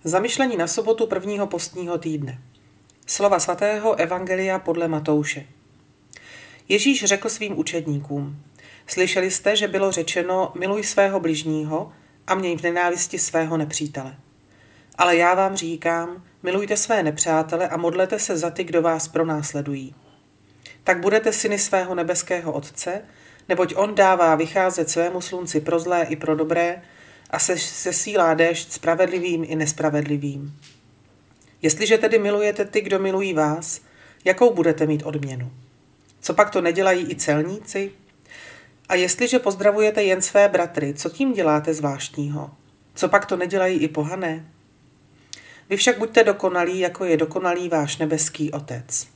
Zamyšlení na sobotu prvního postního týdne. Slova svatého Evangelia podle Matouše. Ježíš řekl svým učedníkům: Slyšeli jste, že bylo řečeno, miluj svého bližního a měj v nenávisti svého nepřítele. Ale já vám říkám, milujte své nepřátele a modlete se za ty, kdo vás pronásledují. Tak budete syny svého nebeského Otce, neboť on dává vycházet svému slunci pro zlé i pro dobré a sesílá déšť spravedlivým i nespravedlivým. Jestliže tedy milujete ty, kdo milují vás, jakou budete mít odměnu? Co pak to nedělají i celníci? A jestliže pozdravujete jen své bratry, co tím děláte zvláštního? Co pak to nedělají i pohané? Vy však buďte dokonalí, jako je dokonalý váš nebeský Otec.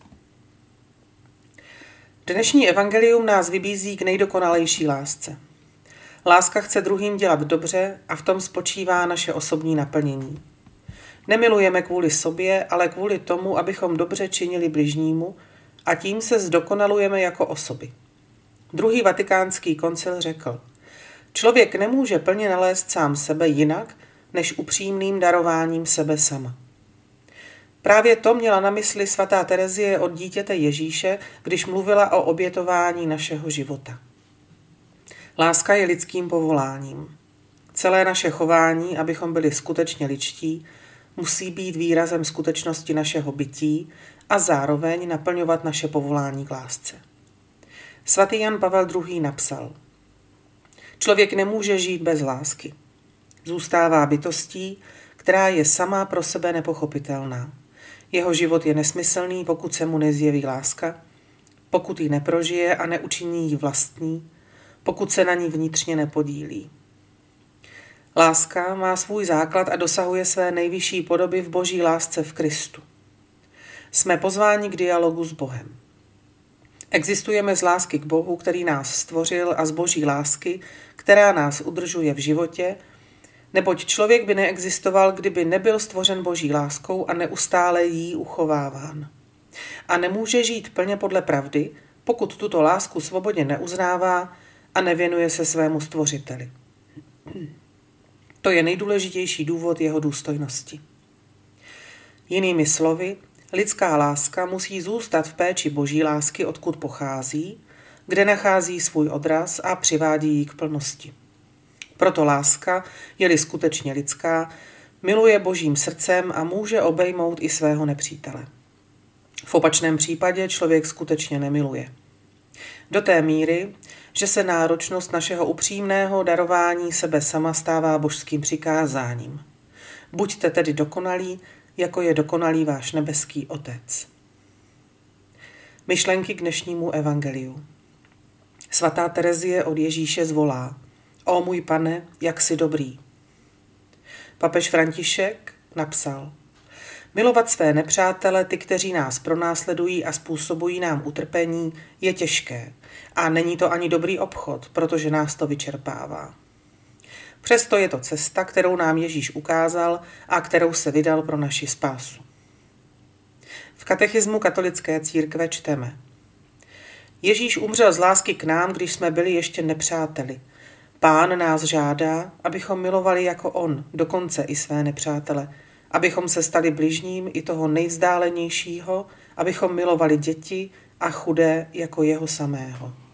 Dnešní evangelium nás vybízí k nejdokonalejší lásce. Láska chce druhým dělat dobře a v tom spočívá naše osobní naplnění. Nemilujeme kvůli sobě, ale kvůli tomu, abychom dobře činili bližnímu a tím se zdokonalujeme jako osoby. Druhý vatikánský koncil řekl: Člověk nemůže plně nalézt sám sebe jinak, než upřímným darováním sebe sama. Právě to měla na mysli svatá Terezie od dítěte Ježíše, když mluvila o obětování našeho života. Láska je lidským povoláním. Celé naše chování, abychom byli skutečně lidští, musí být výrazem skutečnosti našeho bytí a zároveň naplňovat naše povolání k lásce. Svatý Jan Pavel II. Napsal: Člověk nemůže žít bez lásky. Zůstává bytostí, která je sama pro sebe nepochopitelná. Jeho život je nesmyslný, pokud se mu nezjeví láska, pokud ji neprožije a neučiní ji vlastní, pokud se na ní vnitřně nepodílí. Láska má svůj základ a dosahuje své nejvyšší podoby v boží lásce v Kristu. Jsme pozváni k dialogu s Bohem. Existujeme z lásky k Bohu, který nás stvořil, a z boží lásky, která nás udržuje v životě, neboť člověk by neexistoval, kdyby nebyl stvořen boží láskou a neustále jí uchováván. A nemůže žít plně podle pravdy, pokud tuto lásku svobodně neuznává a nevěnuje se svému stvořiteli. To je nejdůležitější důvod jeho důstojnosti. Jinými slovy, lidská láska musí zůstat v péči boží lásky, odkud pochází, kde nachází svůj odraz a přivádí ji k plnosti. Proto láska, je-li skutečně lidská, miluje božím srdcem a může obejmout i svého nepřítele. V opačném případě člověk skutečně nemiluje. Do té míry, že se náročnost našeho upřímného darování sebe sama stává božským přikázáním. Buďte tedy dokonalí, jako je dokonalý váš nebeský Otec. Myšlenky k dnešnímu evangeliu. Svatá Terezie od Ježíše zvolá: O můj Pane, jak jsi dobrý. Papež František napsal: Milovat své nepřátele, ty, kteří nás pronásledují a způsobují nám utrpení, je těžké a není to ani dobrý obchod, protože nás to vyčerpává. Přesto je to cesta, kterou nám Ježíš ukázal a kterou se vydal pro naši spásu. V katechismu katolické církve čteme: Ježíš umřel z lásky k nám, když jsme byli ještě nepřáteli. Pán nás žádá, abychom milovali jako on, dokonce i své nepřátele, abychom se stali bližním i toho nejvzdálenějšího, abychom milovali děti a chudé jako jeho samého.